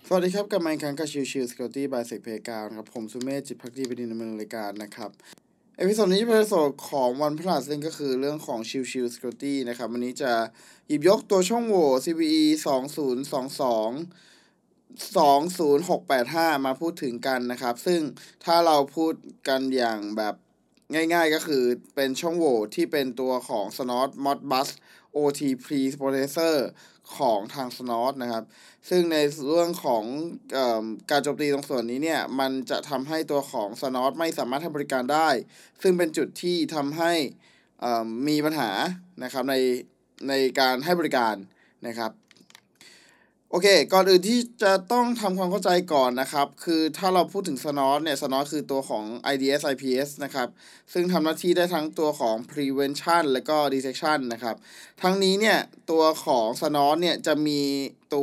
สวัสดีครับกลับมาอีกครั้งกับชิว Security by Sec Playground นะครับผมสุเมธจิตภักดีเป็นดำเนินรายการนะครับเอพิโซดนี้เป็นเอพิโซดของวันพฤหัสซึ่งก็คือเรื่องของชิว Security นะครับวันนี้จะหยิบยกตัวช่องโหว่ CVE 2022 20685มาพูดถึงกันนะครับซึ่งถ้าเราพูดกันอย่างแบบง่ายๆก็คือเป็นช่องโหว่ที่เป็นตัวของ Snort Modbus OT Preprocessor ของทาง Snort นะครับซึ่งในเรื่องของการโจมตีตรงส่วนนี้เนี่ยมันจะทำให้ตัวของ Snort ไม่สามารถให้บริการได้ซึ่งเป็นจุดที่ทำให้มีปัญหานะครับในการให้บริการนะครับโอเคก่อนอื่นที่จะต้องทำความเข้าใจก่อนนะครับคือถ้าเราพูดถึง Snort เนี่ย Snort คือตัวของ IDS IPS นะครับซึ่งทำหน้าที่ได้ทั้งตัวของ prevention และก็ detection นะครับทั้งนี้เนี่ยตัวของ Snort เนี่ยจะมีตัว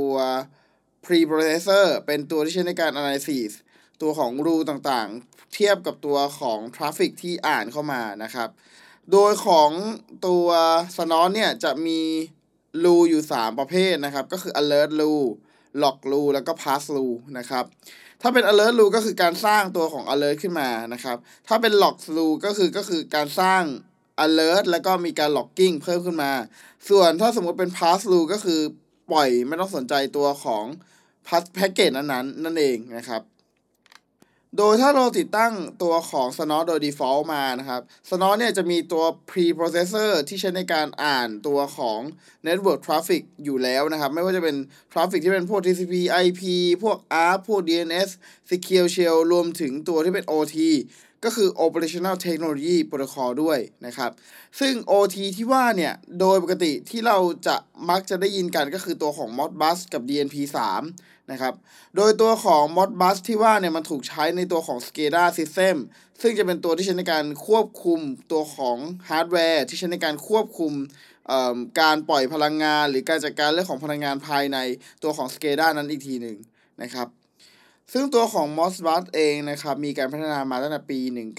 preprocessor เป็นตัวที่ใช้ในการ analysis ตัวของ rule ต่างๆเทียบกับตัวของ traffic ที่อ่านเข้ามานะครับโดยของตัว Snort เนี่ยจะมีรูอยู่3ประเภทนะครับก็คือ alert rule log rule แล้วก็ pass rule นะครับถ้าเป็น alert rule ก็คือการสร้างตัวของ alert ขึ้นมานะครับถ้าเป็น log rule ก็คือการสร้าง alert แล้วก็มีการ logging เพิ่มขึ้นมาส่วนถ้าสมมติเป็น pass rule ก็คือปล่อยไม่ต้องสนใจตัวของ pass package นั้นนั่นเองนะครับโดยถ้าเราติดตั้งตัวของ Snort โดย default มานะครับ Snort เนี่ยจะมีตัว preprocessor ที่ใช้ในการอ่านตัวของ network traffic อยู่แล้วนะครับไม่ว่าจะเป็น traffic ที่เป็นพวก TCP IP พวก ARP พวก DNS Secure Shell รวมถึงตัวที่เป็น OT ก็คือ Operational Technology Protocol ด้วยนะครับซึ่ง OT ที่ว่าเนี่ยโดยปกติที่เราจะมักจะได้ยินกันก็คือตัวของ Modbus กับ DNP3 นะครับโดยตัวของ Modbus ที่ว่าเนี่ยมันถูกใช้ในตัวของ SCADA System ซึ่งจะเป็นตัวที่ใช้ในการควบคุมตัวของฮาร์ดแวร์ที่ใช้ในการควบคุมการปล่อยพลังงานหรือการจัดการเรื่องของพลังงานภายในตัวของ SCADA นั้นอีกทีหนึ่งนะครับซึ่งตัวของ Modbus เองนะครับมีการพัฒนามาตั้งแต่ปี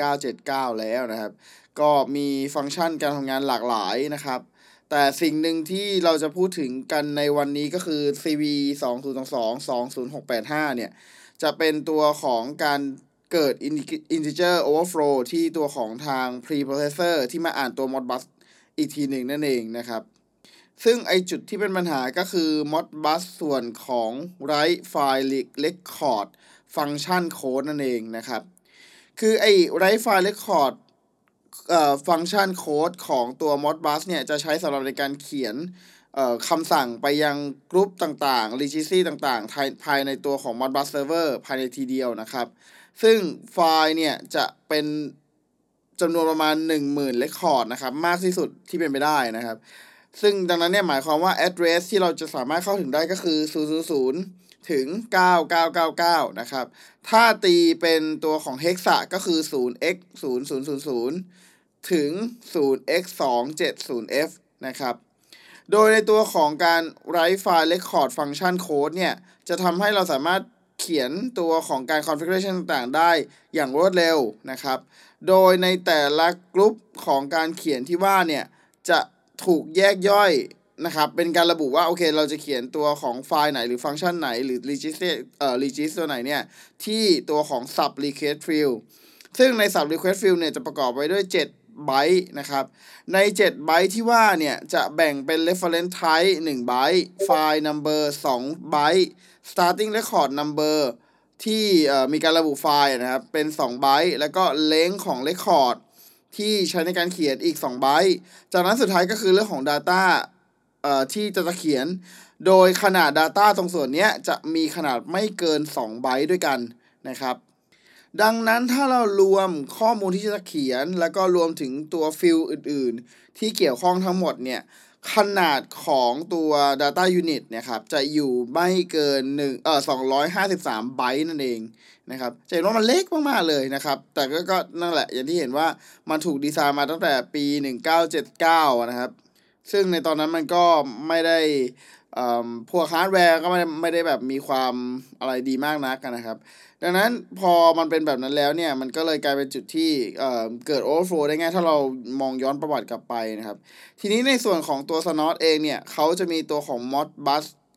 1979 แล้วนะครับก็มีฟังก์ชันการทำงานหลากหลายนะครับแต่สิ่งหนึ่งที่เราจะพูดถึงกันในวันนี้ก็คือ CVE 2022 20685เนี่ยจะเป็นตัวของการเกิด integer overflow ที่ตัวของทาง preprocessor ที่มาอ่านตัว Modbus อีกทีหนึ่งนั่นเองนะครับซึ่งไอจุดที่เป็นปัญหาก็คือ Modbus ส่วนของ write file record function code นั่นเองนะครับคือไอ write file recordฟังก์ชันโค้ดของตัว Modbus เนี่ยจะใช้สำหรับในการเขียนคำสั่งไปยังกรุ๊ปต่างๆ registry ต่างๆภายในตัวของ Modbus Server ภายในทีเดียวนะครับซึ่งไฟล์เนี่ยจะเป็นจำนวนประมาณ 10,000 record นะครับมากที่สุดที่เป็นไปได้นะครับซึ่งดังนั้นเนี่ยหมายความว่า address ที่เราจะสามารถเข้าถึงได้ก็คือ 000 ถึง 9999 นะครับถ้าตีเป็นตัวของ hexa ก็คือ 0x0000 ถึง 0x270f นะครับโดยในตัวของการ write file record function code เนี่ยจะทำให้เราสามารถเขียนตัวของการ configuration ต่างๆได้อย่างรวดเร็วนะครับโดยในแต่ละกลุ่มของการเขียนที่ว่าเนี่ยจะถูกแยกย่อยนะครับเป็นการระบุว่าโอเคเราจะเขียนตัวของไฟล์ไหนหรือฟังก์ชันไหนหรือ register ตัวไหนเนี่ยที่ตัวของ sub request field ซึ่งใน sub request field เนี่ยจะประกอบไว้ด้วย7 ไบต์นะครับใน7 ไบต์ที่ว่าเนี่ยจะแบ่งเป็น reference type 1 ไบต์ file number 2 ไบต์ starting record number ที่มีการระบุไฟล์นะครับเป็น2 ไบต์แล้วก็ length ของ record ที่ใช้ในการเขียนอีก2 ไบต์จากนั้นสุดท้ายก็คือเรื่องของ data ที่จะเขียนโดยขนาด data ตรงส่วนนี้จะมีขนาดไม่เกิน2 ไบต์ด้วยกันนะครับดังนั้นถ้าเรารวมข้อมูลที่จะเขียนแล้วก็รวมถึงตัวฟิลอื่นๆที่เกี่ยวข้องทั้งหมดเนี่ยขนาดของตัว data unit เนี่ยครับจะอยู่ไม่เกิน253 ไบต์นั่นเองนะครับจะเห็นว่ามันเล็กมากๆเลยนะครับแต่ก็นั่นแหละอย่างที่เห็นว่ามันถูกดีไซน์มาตั้งแต่ปี 1979 นะครับซึ่งในตอนนั้นมันก็ไม่ได้พวกฮาร์ดแวร์ก็ไม่ได้แบบมีความอะไรดีมากนักนะครับดังนั้นพอมันเป็นแบบนั้นแล้วเนี่ยมันก็เลยกลายเป็นจุดที่เกิด overflow ได้ง่ายถ้าเรามองย้อนประวัติกลับไปนะครับทีนี้ในส่วนของตัว Snort เองเนี่ยเขาจะมีตัวของ Modbus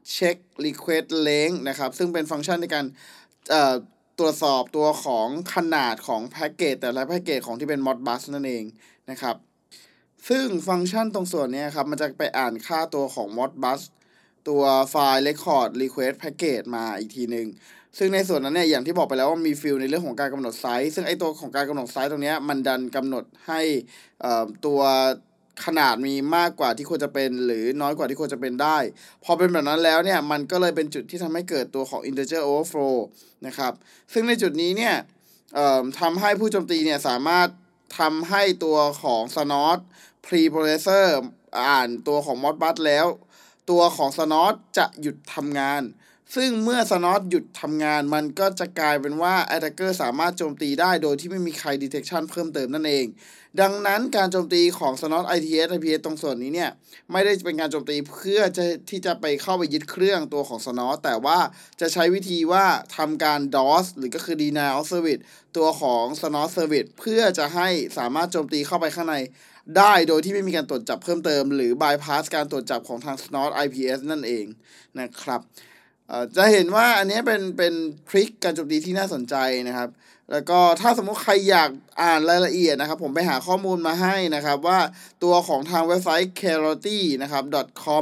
check request length นะครับซึ่งเป็นฟังก์ชันในการตรวจสอบตัวของขนาดของแพ็กเกจแต่ละแพ็กเกจของที่เป็น Modbus นั่นเองนะครับซึ่งฟังก์ชันตรงส่วนนี้ครับมันจะไปอ่านค่าตัวของ Modbus ตัวไฟล์ record request package มาอีกทีหนึ่งซึ่งในส่วนนั้นเนี่ยอย่างที่บอกไปแล้วว่ามีฟิลในเรื่องของการกำหนดไซส์ซึ่งไอตัวของการกำหนดไซส์ตรงนี้มันดันกำหนดให้ตัวขนาดมีมากกว่าที่ควรจะเป็นหรือน้อยกว่าที่ควรจะเป็นได้พอเป็นแบบนั้นแล้วเนี่ยมันก็เลยเป็นจุดที่ทำให้เกิดตัวของ integer overflow นะครับซึ่งในจุดนี้เนี่ยทำให้ผู้โจมตีเนี่ยสามารถทำให้ตัวของ snot preprocessor อ่านตัวของ Modbus แล้วตัวของ snot จะหยุดทำงานซึ่งเมื่อ snot หยุดทำงานมันก็จะกลายเป็นว่า attacker สามารถโจมตีได้โดยที่ไม่มีใคร detection เพิ่มเติมนั่นเองดังนั้นการโจมตีของ snot ITS IPS ตรงส่วนนี้เนี่ยไม่ได้เป็นการโจมตีเพื่อที่จะไปเข้าไปยึดเครื่องตัวของ snot แต่ว่าจะใช้วิธีว่าทำการ DOS หรือก็คือ denial of service ตัวของ snot service เพื่อจะให้สามารถโจมตีเข้าไปข้างในได้โดยที่ไม่มีการตรวจจับเพิ่มเติมหรือ bypass การตรวจจับของทาง snot IPS นั่นเองนะครับจะเห็นว่าอันนี้เป็นทริคการโจมตีที่น่าสนใจนะครับแล้วก็ถ้าสมมุติใครอยากอ่านรายละเอียดนะครับผมไปหาข้อมูลมาให้นะครับว่าตัวของทางเว็บไซต์ clarity นะครับ .com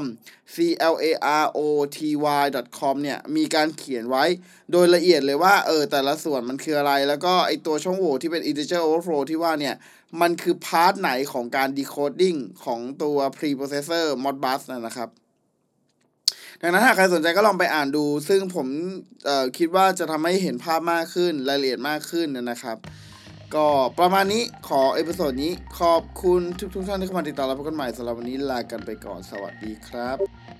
clarity.com เนี่ยมีการเขียนไว้โดยละเอียดเลยว่าแต่ละส่วนมันคืออะไรแล้วก็ไอตัวช่องโหว่ที่เป็น integer overflow ที่ว่าเนี่ยมันคือพาร์ทไหนของการ decoding ของตัว preprocessor Modbus นะครับดังนั้นหากใครสนใจก็ลองไปอ่านดูซึ่งผมคิดว่าจะทำให้เห็นภาพมากขึ้นรายละเอียดมากขึ้นนะครับก็ประมาณนี้ขอเอพิโซดนี้ขอบคุณทุกท่านที่เข้ามาติดตามรับชมกันใหม่สำหรับวันนี้ลากันไปก่อนสวัสดีครับ